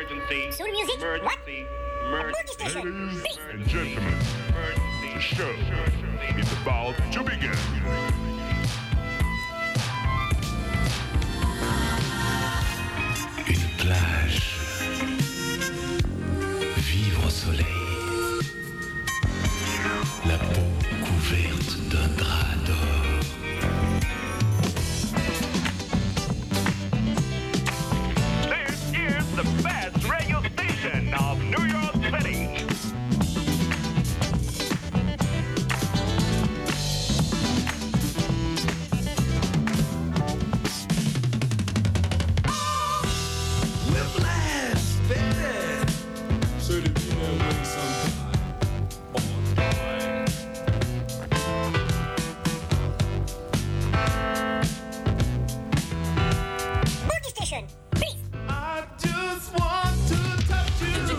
Soul music? What? Boogie Station. Ladies and gentlemen, the show is about to begin. Une plage, vivre au soleil, la peau couverte d'un drap d'or. This is the best radio station of New York City. Boogie Station. Please. I just want to touch you.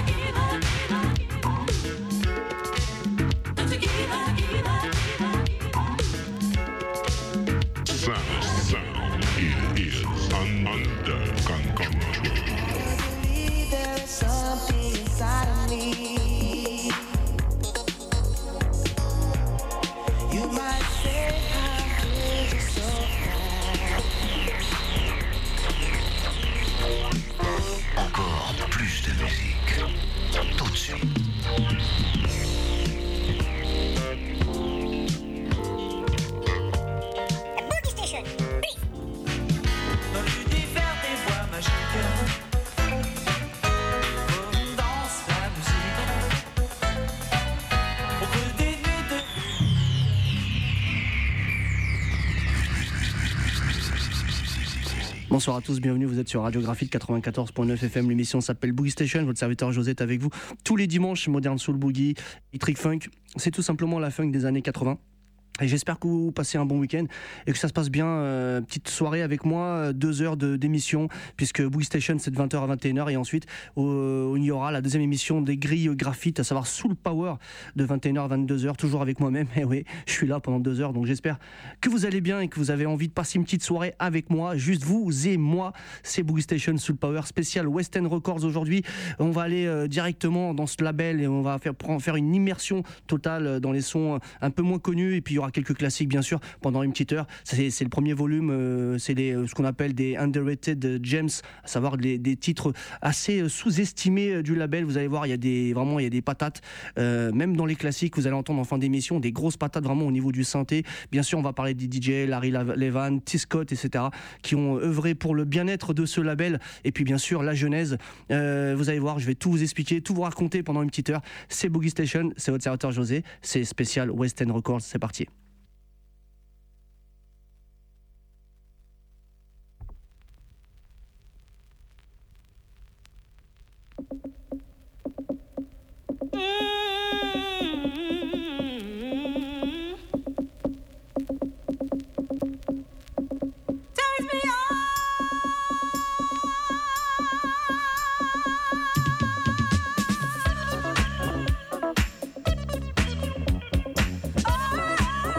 Sound, it is under control. There's something inside of me. You might say I'm crazy so Encore plus de musique. Tout de suite. Boogie Station. Please. dans l'univers des voix magiques. On danse la musique. Au creux des nuits de Bonsoir à tous, bienvenue, vous êtes sur Radio Graphite 94.9 FM, l'émission s'appelle Boogie Station, votre serviteur José est avec vous tous les dimanches, Modern Soul Boogie, Electric Funk, c'est tout simplement la funk des années 80. Et j'espère que vous passez un bon week-end et que ça se passe bien. Petite soirée avec moi, 2 heures d'émission, puisque Boogie Station c'est de 20h à 21h. Et ensuite, il y aura la deuxième émission des grilles graphite, à savoir Soul Power, de 21h à 22h, toujours avec moi-même. Et oui, je suis là pendant 2 heures, donc j'espère que vous allez bien et que vous avez envie de passer une petite soirée avec moi, juste vous et moi. C'est Boogie Station Soul Power spécial West End Records aujourd'hui. On va aller directement dans ce label et on va faire une immersion totale dans les sons un peu moins connus. Et puis il y aura quelques classiques bien sûr pendant une petite heure. C'est le premier volume, c'est ce qu'on appelle des underrated gems, à savoir des titres assez sous-estimés du label. Vous allez voir, il y a des patates, même dans les classiques, vous allez entendre en fin d'émission des grosses patates vraiment au niveau du synthé. Bien sûr, on va parler des DJ, Larry Levan, T. Scott, etc., qui ont œuvré pour le bien-être de ce label. Et puis bien sûr, la genèse. Vous allez voir, je vais tout vous expliquer, tout vous raconter pendant une petite heure. C'est Boogie Station, c'est votre serviteur José, c'est spécial West End Records, c'est parti. Oh,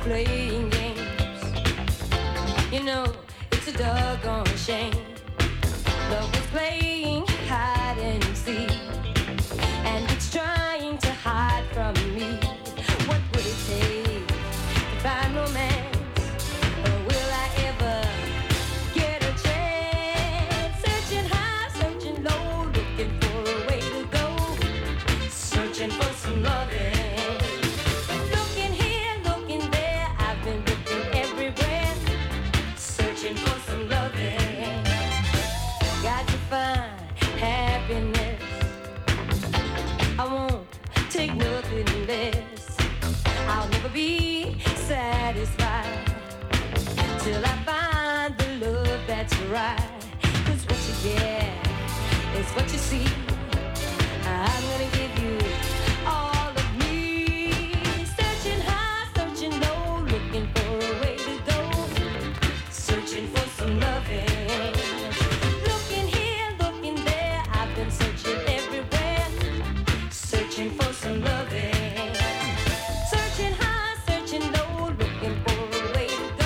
playing games. You know, it's a doggone shame. Love is playing hide and seek, and it's trying to hide from me. What would it take to find romance? Or will I ever get a chance? Searching high, searching low, looking for a way to go. Searching for some loving. Looking here, looking there, I've been looking everywhere. Searching for some loving. Got to find happiness. I won't take nothing less. I'll never be satisfied till I find the love that's right. 'Cause what you get is what you see. I'm gonna give you all of me. Searching high, searching low, looking for a way to go. Searching for some loving. Looking here, looking there, I've been searching everywhere. Searching for some loving. Searching high, searching low, looking for a way to go.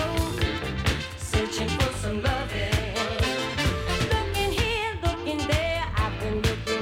Searching for some loving. Looking here, looking there, I've been looking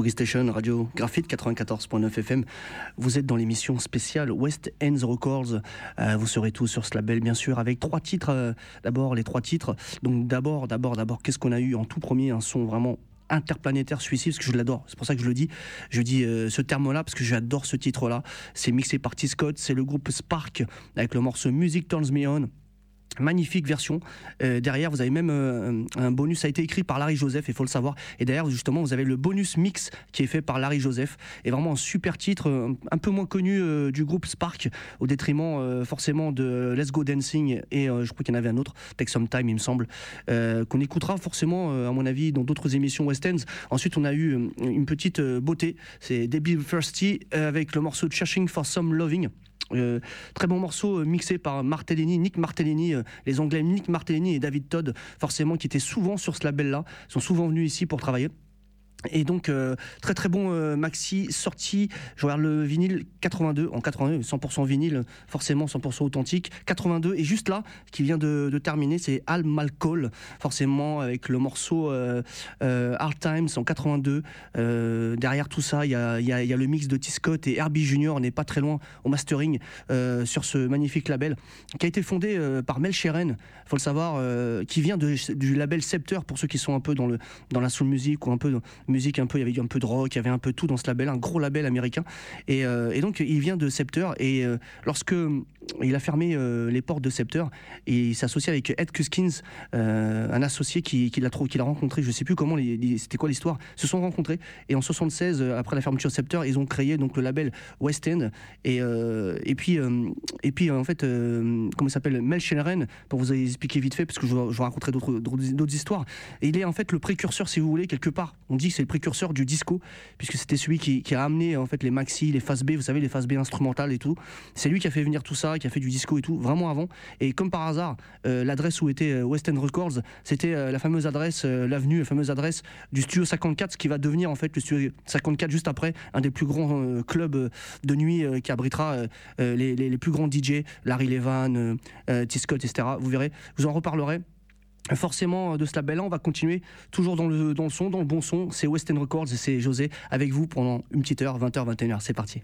Boogie Station, Radio Graphite 94.9 FM. Vous êtes dans l'émission spéciale West Ends Records. Vous serez tous sur ce label, bien sûr, avec 3 titres. D'abord, les 3 titres. Donc d'abord, qu'est-ce qu'on a eu en tout premier? Un son vraiment interplanétaire suicide, parce que je l'adore, c'est pour ça que je le dis. Je dis ce terme-là parce que j'adore ce titre-là. C'est mixé par T-Scott, c'est le groupe Spark avec le morceau Music Turns Me On. Magnifique version. Derrière, vous avez même un bonus, ça a été écrit par Larry Joseph, il faut le savoir. Et derrière, justement, vous avez le bonus mix qui est fait par Larry Joseph. Et vraiment un super titre, un peu moins connu du groupe Spark, au détriment forcément de Let's Go Dancing. Et je crois qu'il y en avait un autre, Take Some Time, il me semble, qu'on écoutera forcément, à mon avis, dans d'autres émissions West Ends. Ensuite, on a eu une petite beauté, c'est Debbie Thirsty avec le morceau Searching for Some Loving. Très bon morceau mixé par Nick Martellini, les Anglais Nick Martellini et David Todd, forcément, qui étaient souvent sur ce label-là, sont souvent venus ici pour travailler. Et donc très très bon maxi sorti. Je regarde le vinyle 82 en 82, 100% vinyle, forcément 100% authentique. 82 et juste là qui vient de terminer, c'est Al Malcol, forcément avec le morceau Hard Times en 82. Derrière tout ça, il y a le mix de T-Scott et Herbie Junior, on n'est pas très loin au mastering sur ce magnifique label qui a été fondé par Mel Sheeran, faut le savoir, qui vient du label Scepter, pour ceux qui sont un peu dans la soul music ou un peu musique, un peu, il y avait un peu de rock, il y avait un peu tout dans ce label, un gros label américain, et donc il vient de Scepter, et lorsque il a fermé les portes de Scepter, et il s'est associé avec Ed Cuskins, un associé qu'il a rencontré, je sais plus comment, c'était quoi l'histoire, se sont rencontrés, et en 76, après la fermeture de Scepter, ils ont créé donc le label West End, et puis en fait, comment il s'appelle, Mel Sheeran, pour vous expliquer vite fait, parce que je vous raconterai d'autres histoires, et il est en fait le précurseur, si vous voulez, quelque part, on dit que c'est le précurseur du disco, puisque c'était celui qui a amené en fait les maxi, les phases B, vous savez, les phases B instrumentales et tout. C'est lui qui a fait venir tout ça, qui a fait du disco et tout, vraiment avant. Et comme par hasard, l'adresse où était West End Records, c'était la fameuse adresse, la fameuse adresse du Studio 54, ce qui va devenir en fait le Studio 54 juste après, un des plus grands clubs de nuit qui abritera les plus grands DJ, Larry Levan, T-Scott, etc. Vous verrez, je vous en reparlerai. Forcément de ce label-là, on va continuer toujours dans le son, dans le bon son. C'est West End Records et c'est José avec vous pendant une petite heure, 20h, 21h. C'est parti.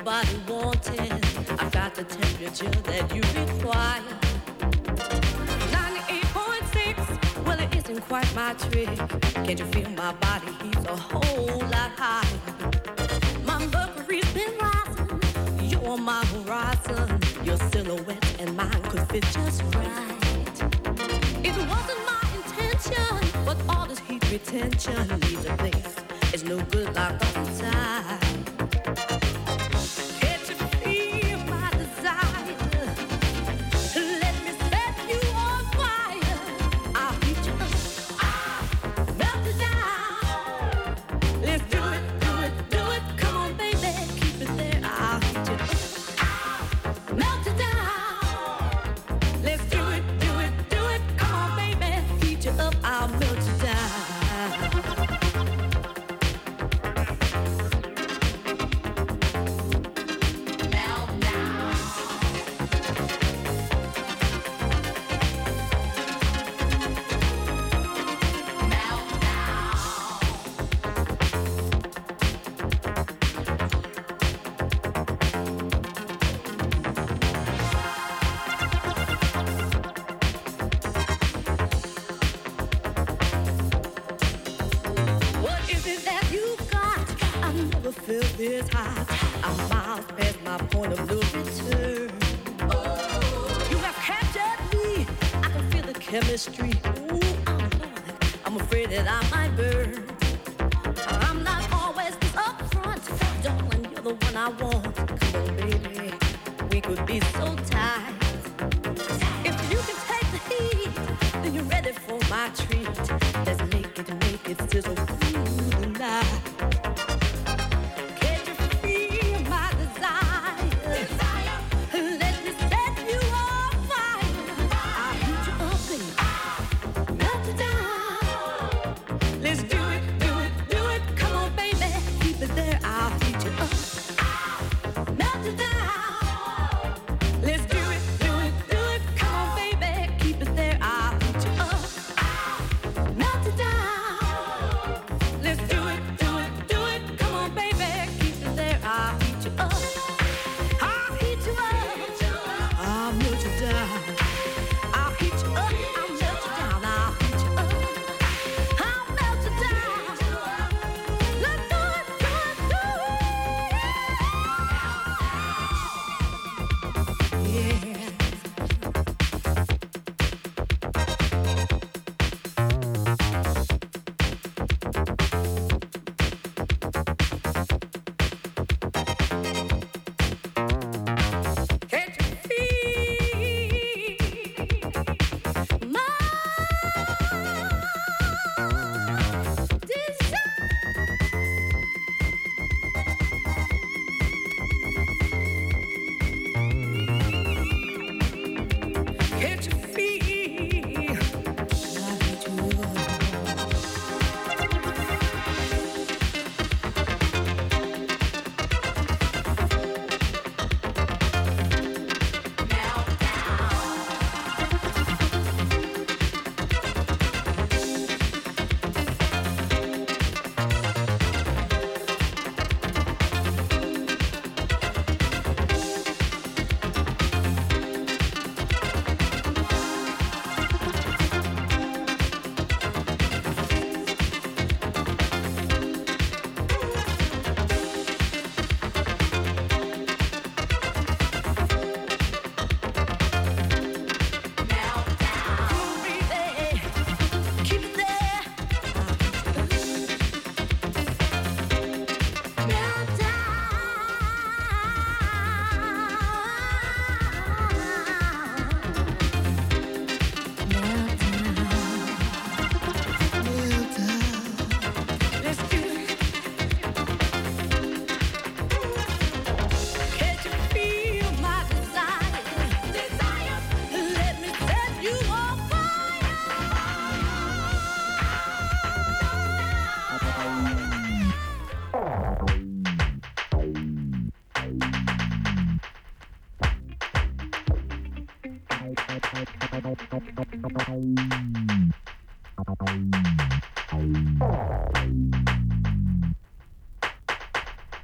body wanting. I've got the temperature that you require. 98.6, well it isn't quite my trick. Can't you feel my body heat's a whole lot higher? My mercury's been rising, you're on my horizon. Your silhouette and mine could fit just right. It wasn't my intention, but all this heat retention leaves a place. It's no good locked up inside. Can't you feel my desire? Let me set you on fire. I'll heat you up, melt it down. Let's do it, do it, do it. Come on, baby, keep it there. I'll heat you up, melt it down. Let's do it, do it, do it. Come on, baby, heat you up. I'll melt you down. Feel this high. I'm miles past my point of no return. You have captured me. I can feel the chemistry. Ooh, I'm afraid that I might burn. I'm not always this upfront, darling. You're the one I want. Come on, baby, we could be so tight. If you can take the heat, then you're ready for my treat. Let's make it sizzle through the night.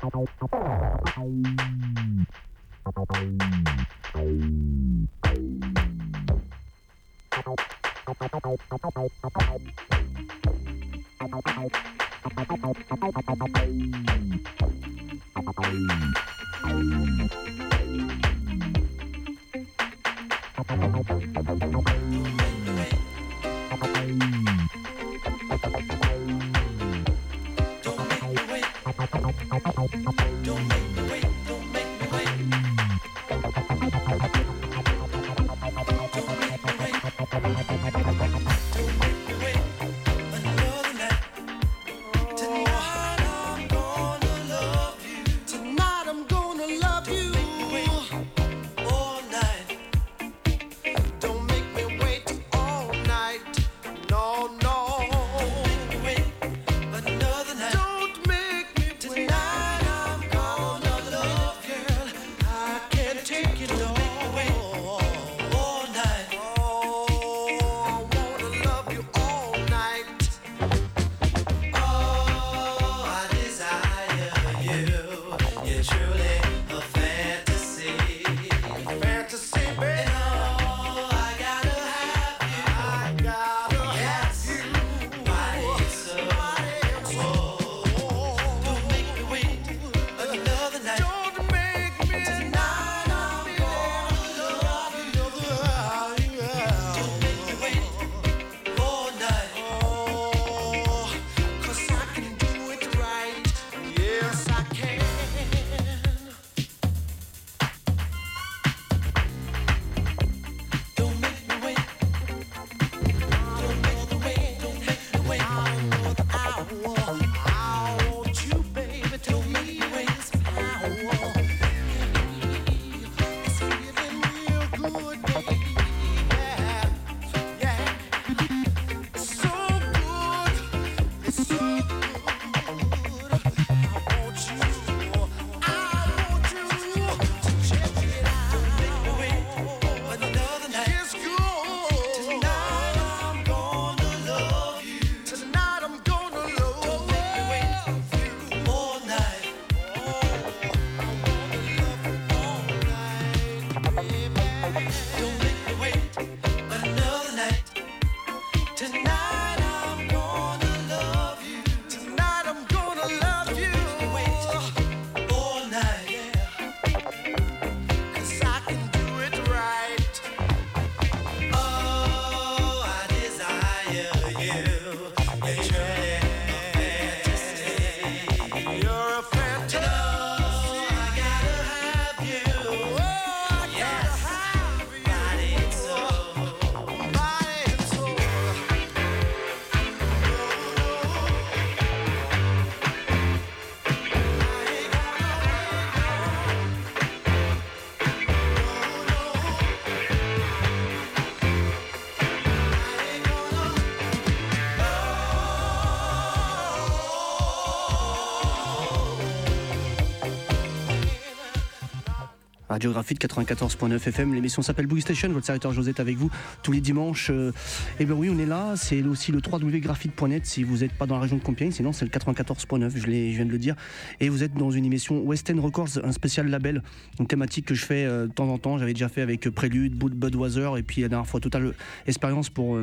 Radiographie de 94.9 FM, l'émission s'appelle Boogie Station, votre serviteur José est avec vous tous les dimanches. Et bien oui, on est là, c'est aussi le www.graphite.net si vous n'êtes pas dans la région de Compiègne, sinon c'est le 94.9, je viens de le dire. Et vous êtes dans une émission West End Records, un spécial label, une thématique que je fais de temps en temps, j'avais déjà fait avec Prélude, Budweiser, et puis la dernière fois Total Experience pour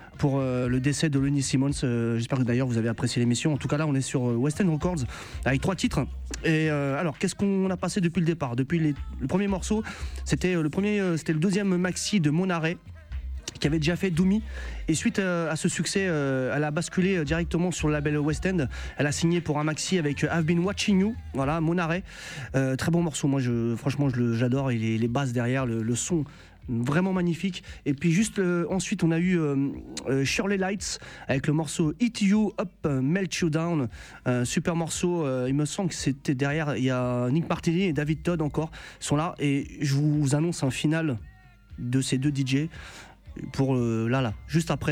le décès de Lenny Simmons. J'espère que d'ailleurs vous avez apprécié l'émission. En tout cas là on est sur West End Records avec 3 titres. Et alors qu'est-ce qu'on a passé depuis le départ? Depuis le premier morceau, c'était le deuxième maxi de Mon Arrêt qui avait déjà fait Doumi, et suite à ce succès elle a basculé directement sur le label West End. Elle a signé pour un maxi avec I've Been Watching You, voilà, Mon Arrêt, très bon morceau, moi franchement j'adore, et les basses derrière, le son vraiment magnifique. Et puis juste ensuite on a eu Shirley Lights avec le morceau Eat You Up, Melt You Down, super morceau, il me semble que c'était derrière, il y a Nick Martini et David Todd encore sont là, et je vous annonce un final de ces deux DJ pour là juste après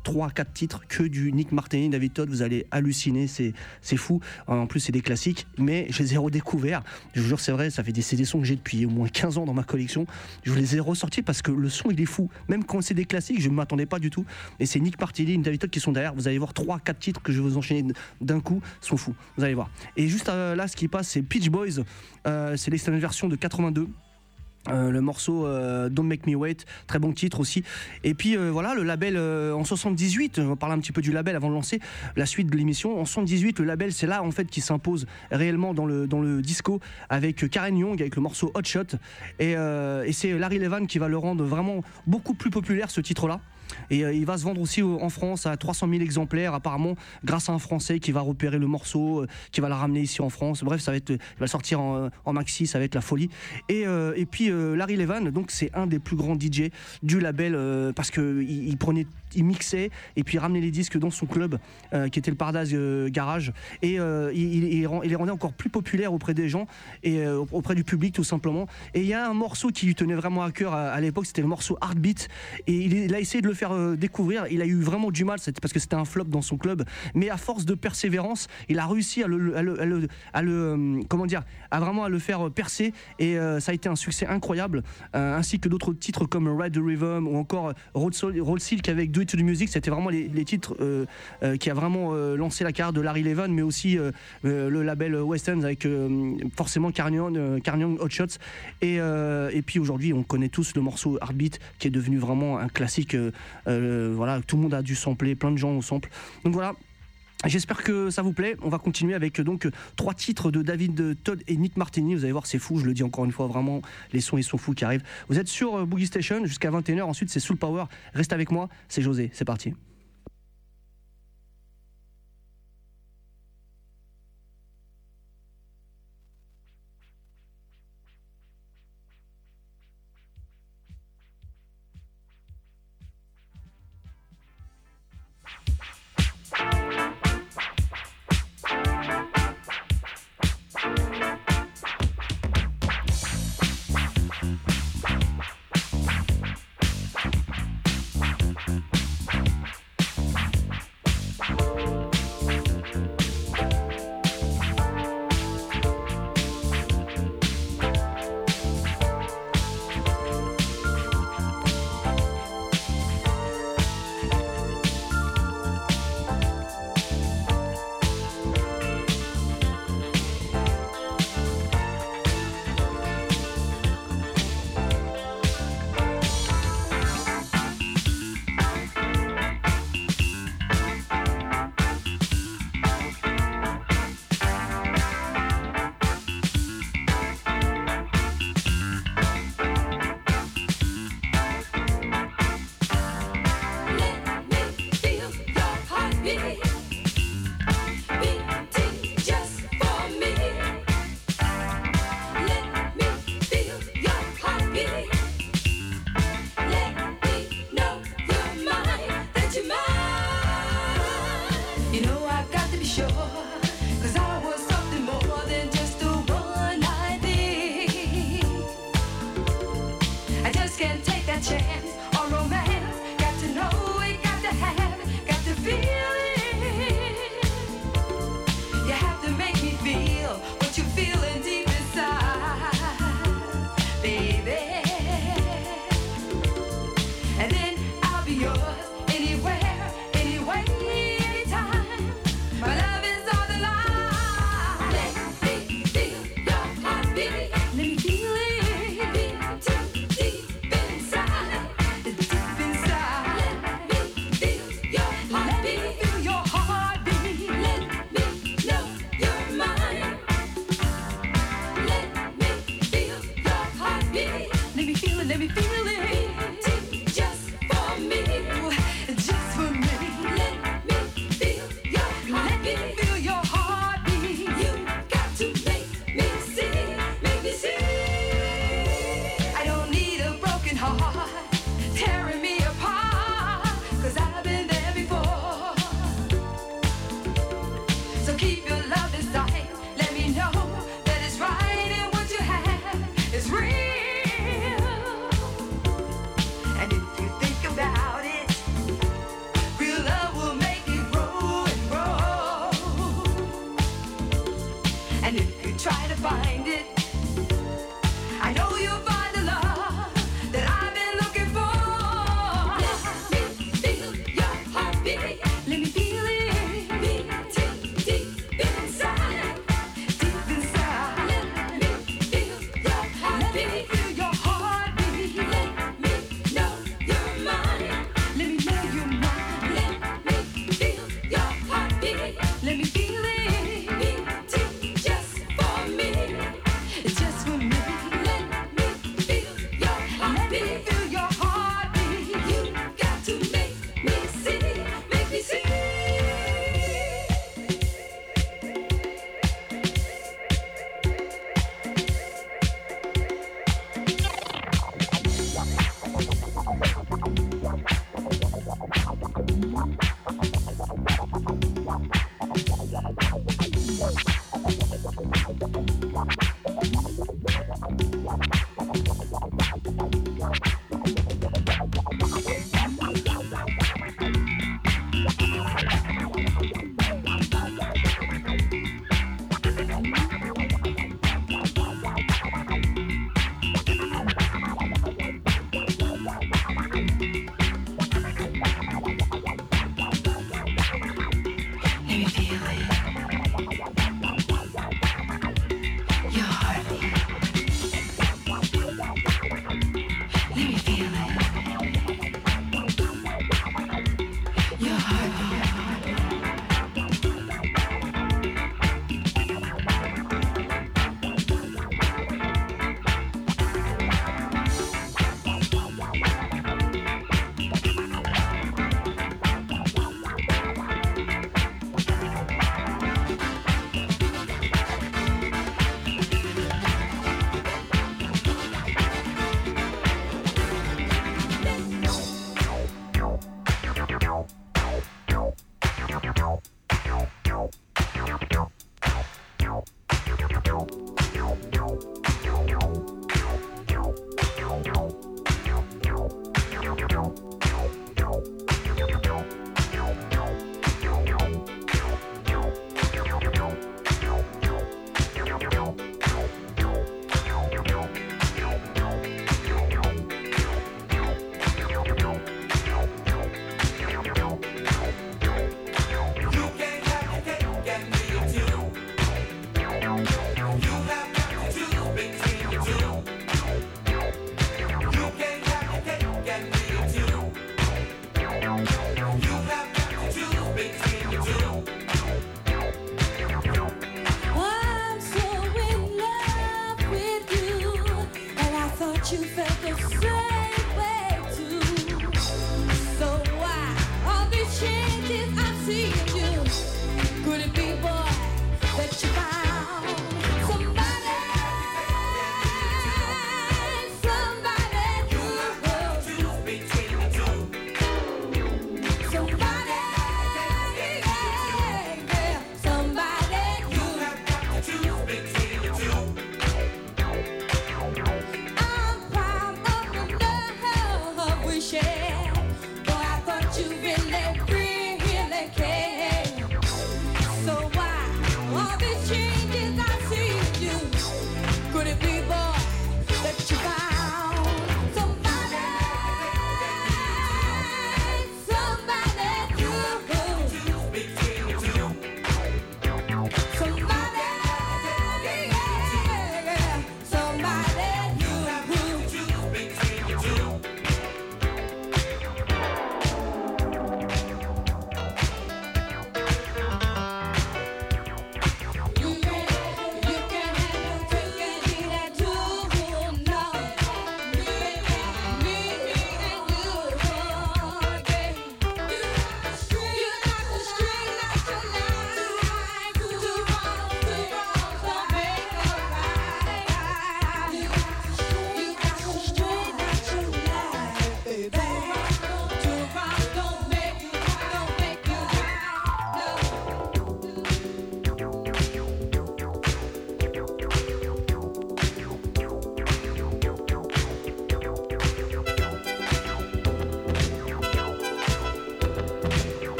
3-4 titres que du Nick Martin, David Todd, vous allez halluciner, c'est fou. En plus c'est des classiques, mais je les ai redécouverts, je vous jure c'est vrai, ça fait des sons que j'ai depuis au moins 15 ans dans ma collection, je les ai ressortis parce que le son il est fou, même quand c'est des classiques je ne m'attendais pas du tout, et c'est Nick Martin, David Todd qui sont derrière, vous allez voir 3-4 titres que je vais vous enchaîner d'un coup, sont fous, vous allez voir. Et juste là ce qui passe c'est Peach Boys, c'est l'extended version de 82. Le morceau Don't Make Me Wait, très bon titre aussi. Et puis voilà, le label en 78, on va parler un petit peu du label avant de lancer la suite de l'émission. En 78, le label c'est là en fait qui s'impose réellement dans le disco avec Karen Young avec le morceau Hot Shot, et c'est Larry Levan qui va le rendre vraiment beaucoup plus populaire ce titre là. Et il va se vendre aussi en France à 300 000 exemplaires apparemment grâce à un Français qui va repérer le morceau, qui va la ramener ici en France. Bref, il va sortir en maxi, ça va être la folie. Et puis Larry Levan, donc c'est un des plus grands DJ du label parce que il mixait et puis il ramenait les disques dans son club qui était le Paradise Garage, et il les rendait encore plus populaires auprès des gens et auprès du public tout simplement. Et il y a un morceau qui lui tenait vraiment à cœur à l'époque, c'était le morceau Heartbeat, et il a essayé de le faire découvrir. Il a eu vraiment du mal parce que c'était un flop dans son club, mais à force de persévérance il a réussi à le faire percer, et ça a été un succès incroyable, ainsi que d'autres titres comme Ride the Rhythm ou encore Road Silk avec Do It to the Music. C'était vraiment les titres qui a vraiment lancé la carrière de Larry Levan, mais aussi le label West End avec forcément Karen Young Hot Shots, et puis aujourd'hui on connaît tous le morceau Heartbeat qui est devenu vraiment un classique. Voilà, tout le monde a dû sampler, plein de gens ont sample. Donc voilà, j'espère que ça vous plaît. On va continuer avec donc 3 titres de David Todd et Nick Martini. Vous allez voir, c'est fou, je le dis encore une fois, vraiment, les sons ils sont fous qui arrivent. Vous êtes sur Boogie Station jusqu'à 21h, ensuite c'est Soul Power. Reste avec moi, c'est José, c'est parti.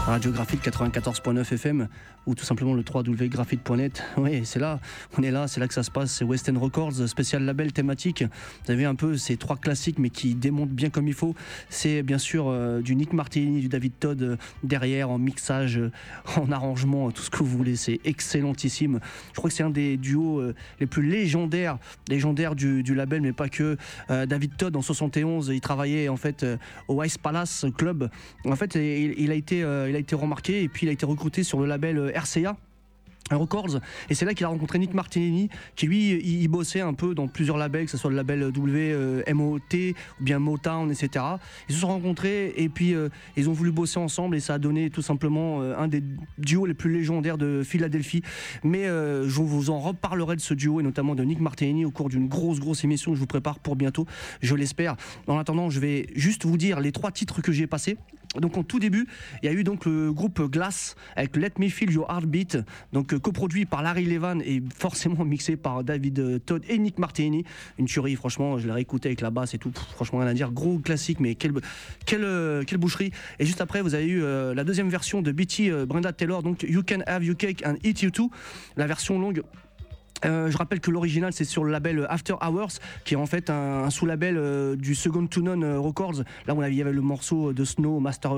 Radiographite 94.9 FM ou tout simplement le www.graphite.net. Oui, c'est là, on est là, c'est là que ça se passe. C'est West End Records, spécial label thématique. Vous avez un peu ces trois classiques mais qui démontent bien comme il faut. C'est bien sûr du Nick Martini, du David Todd derrière, en mixage, en arrangement, tout ce que vous voulez. C'est excellentissime. Je crois que c'est un des duos les plus légendaires du label, mais pas que. David Todd en 71, il travaillait en fait au Ice Palace Club. En fait, il a été remarqué et puis il a été recruté sur le label RCA Records, et c'est là qu'il a rencontré Nick Martini, qui lui il bossait un peu dans plusieurs labels, que ce soit le label WMOT ou bien Motown, etc. Ils se sont rencontrés et puis ils ont voulu bosser ensemble et ça a donné tout simplement un des duos les plus légendaires de Philadelphie. Mais je vous en reparlerai de ce duo et notamment de Nick Martini au cours d'une grosse émission que je vous prépare pour bientôt, je l'espère. En attendant, je vais juste vous dire les 3 titres que j'ai passés. Donc en tout début, il y a eu donc le groupe Glass avec Let Me Feel Your Heartbeat, donc coproduit par Larry Levan et forcément mixé par David Todd et Nick Martini. Une tuerie, franchement, je l'ai réécouté avec la basse et tout, franchement rien à dire, gros classique, mais quelle boucherie. Et juste après, vous avez eu la deuxième version de Betty Brenda Taylor, donc You Can Have Your Cake and Eat You Too, la version longue. Je rappelle que l'original c'est sur le label After Hours, qui est en fait un sous-label du Second to None Records. Là où il y avait le morceau de Snow, Master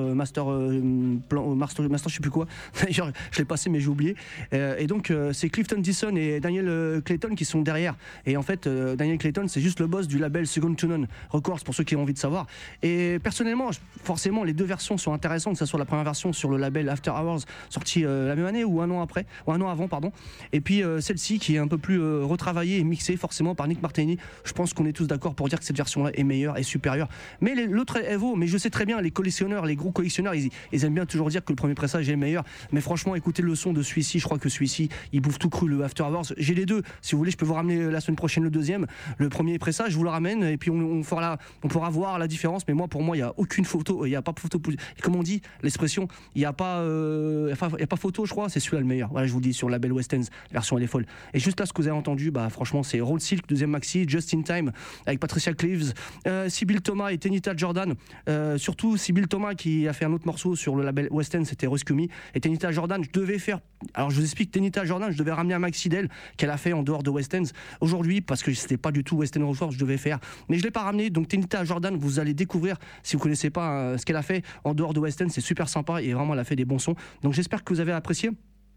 je sais plus quoi. D'ailleurs je l'ai passé mais j'ai oublié. Et donc c'est Clifton Dixon et Daniel Clayton qui sont derrière. Et en fait Daniel Clayton c'est juste le boss du label Second to None Records pour ceux qui ont envie de savoir. Et personnellement forcément les deux versions sont intéressantes, que ce soit la première version sur le label After Hours sortie la même année ou un an avant pardon. Et puis celle-ci qui est un peu plus retravaillé et mixé forcément par Nick Martini. Je pense qu'on est tous d'accord pour dire que cette version-là est meilleure et supérieure. Mais l'autre est vaut, mais je sais très bien, les collectionneurs, les gros collectionneurs, ils aiment bien toujours dire que le premier pressage est le meilleur. Mais franchement, écoutez le son de celui-ci, je crois que celui-ci, il bouffe tout cru, le After Hours. J'ai les deux. Si vous voulez, je peux vous ramener la semaine prochaine le deuxième. Le premier pressage, je vous le ramène et puis on pourra voir la différence. Mais pour moi, il n'y a aucune photo. Il n'y a pas photo. Comme on dit, l'expression, il n'y a pas photo, je crois. C'est celui-là le meilleur. Voilà, je vous le dis, sur le label West Ends, la version elle est folle. Et juste là, ce que vous avez entendu, franchement c'est Roll Silk, deuxième maxi, Just in Time avec Patricia Cleaves, Sybil Thomas et Tenita Jordan, surtout Sybil Thomas qui a fait un autre morceau sur le label West End, c'était Rescue Me, et Tenita Jordan, je vous explique, Tenita Jordan, je devais ramener un maxi d'elle qu'elle a fait en dehors de West End aujourd'hui parce que c'était pas du tout West End Records, je devais faire, mais je l'ai pas ramené. Donc Tenita Jordan, vous allez découvrir si vous connaissez pas ce qu'elle a fait en dehors de West End, c'est super sympa et vraiment elle a fait des bons sons. Donc j'espère que vous avez apprécié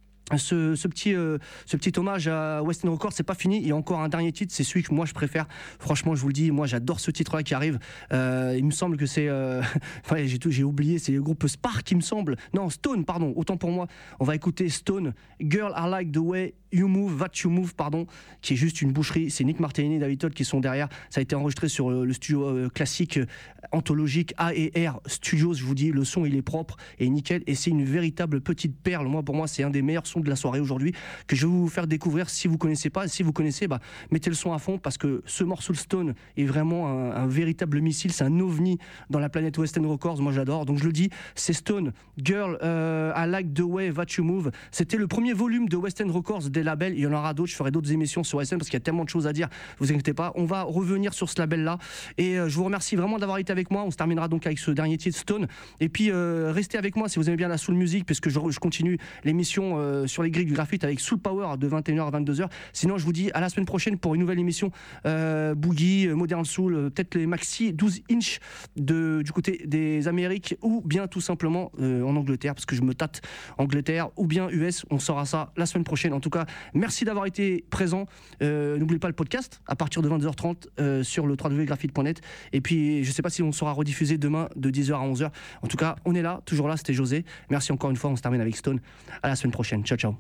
ce petit hommage à West End Records. C'est pas fini, il y a encore un dernier titre, c'est celui que moi je préfère, franchement je vous le dis, moi j'adore ce titre là qui arrive, il me semble que c'est j'ai oublié, c'est le groupe Spark il me semble, non Stone pardon, autant pour moi, on va écouter Stone, Girl I Like the Way You Move, That You Move pardon, qui est juste une boucherie. C'est Nick Martini et David Todd qui sont derrière, ça a été enregistré sur le studio classique anthologique A&R Studios, je vous dis, le son il est propre et nickel et c'est une véritable petite perle. Pour moi c'est un des meilleurs sons de la soirée aujourd'hui que je vais vous faire découvrir. Si vous connaissez pas, si vous connaissez, mettez le son à fond parce que ce morceau de Stone est vraiment un véritable missile, c'est un ovni dans la planète West End Records, moi j'adore. Donc je le dis, c'est Stone, Girl I Like the Way That You Move. C'était le premier volume de West End Records des labels, il y en aura d'autres, je ferai d'autres émissions sur West End parce qu'il y a tellement de choses à dire, vous inquiétez pas, on va revenir sur ce label là et je vous remercie vraiment d'avoir été avec moi. On se terminera donc avec ce dernier titre Stone et puis restez avec moi si vous aimez bien la soul music puisque je continue l'émission sur les grilles du graphite avec Soul Power de 21h à 22h. Sinon je vous dis à la semaine prochaine pour une nouvelle émission Boogie, Modern Soul, peut-être les maxi 12 inch du côté des Amériques ou bien tout simplement en Angleterre parce que je me tâte Angleterre ou bien US, on saura ça la semaine prochaine. En tout cas merci d'avoir été présent, n'oubliez pas le podcast à partir de 22h30 sur le www.graphite.net et puis je sais pas si on sera rediffusé demain de 10h à 11h. En tout cas on est là, toujours là, c'était José, merci encore une fois, on se termine avec Stone, à la semaine prochaine, ciao ciao.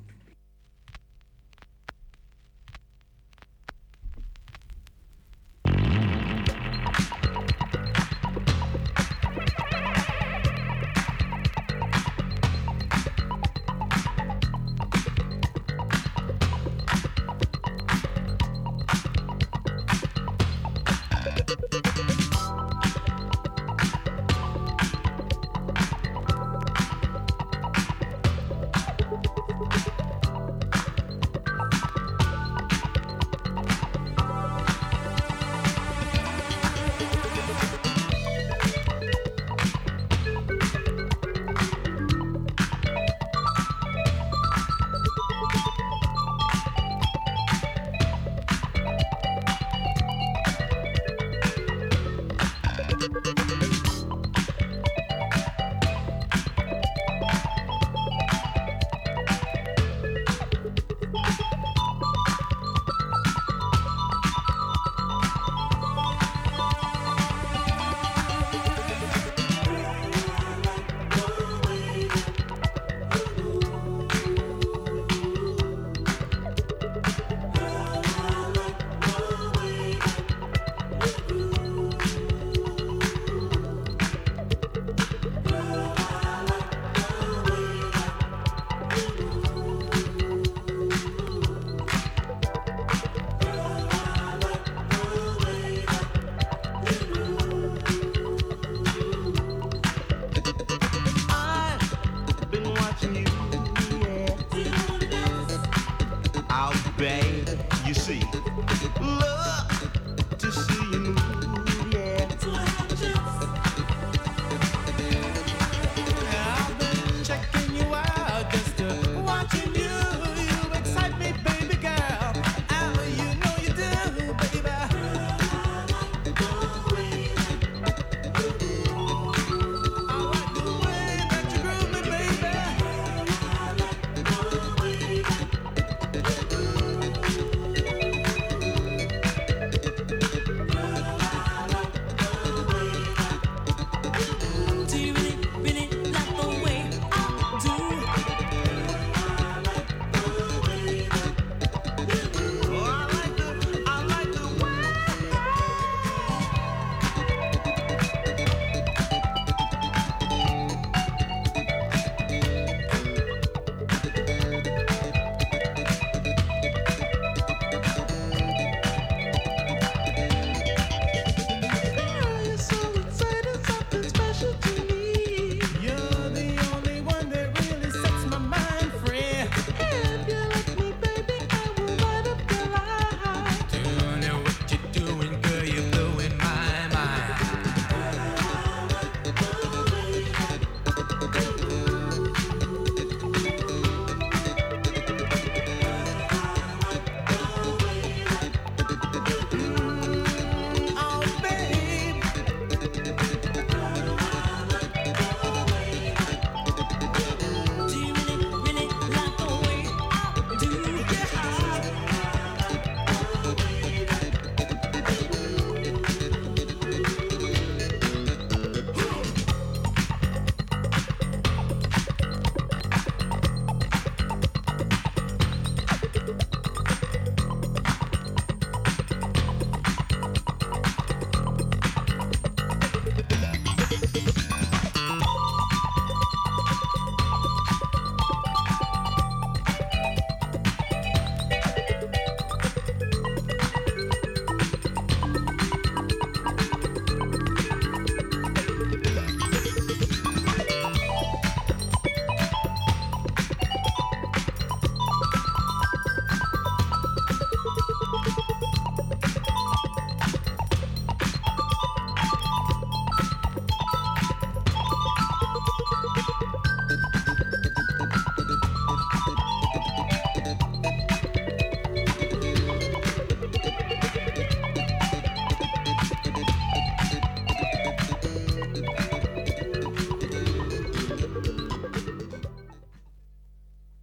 out, babe. You see, love to see you move.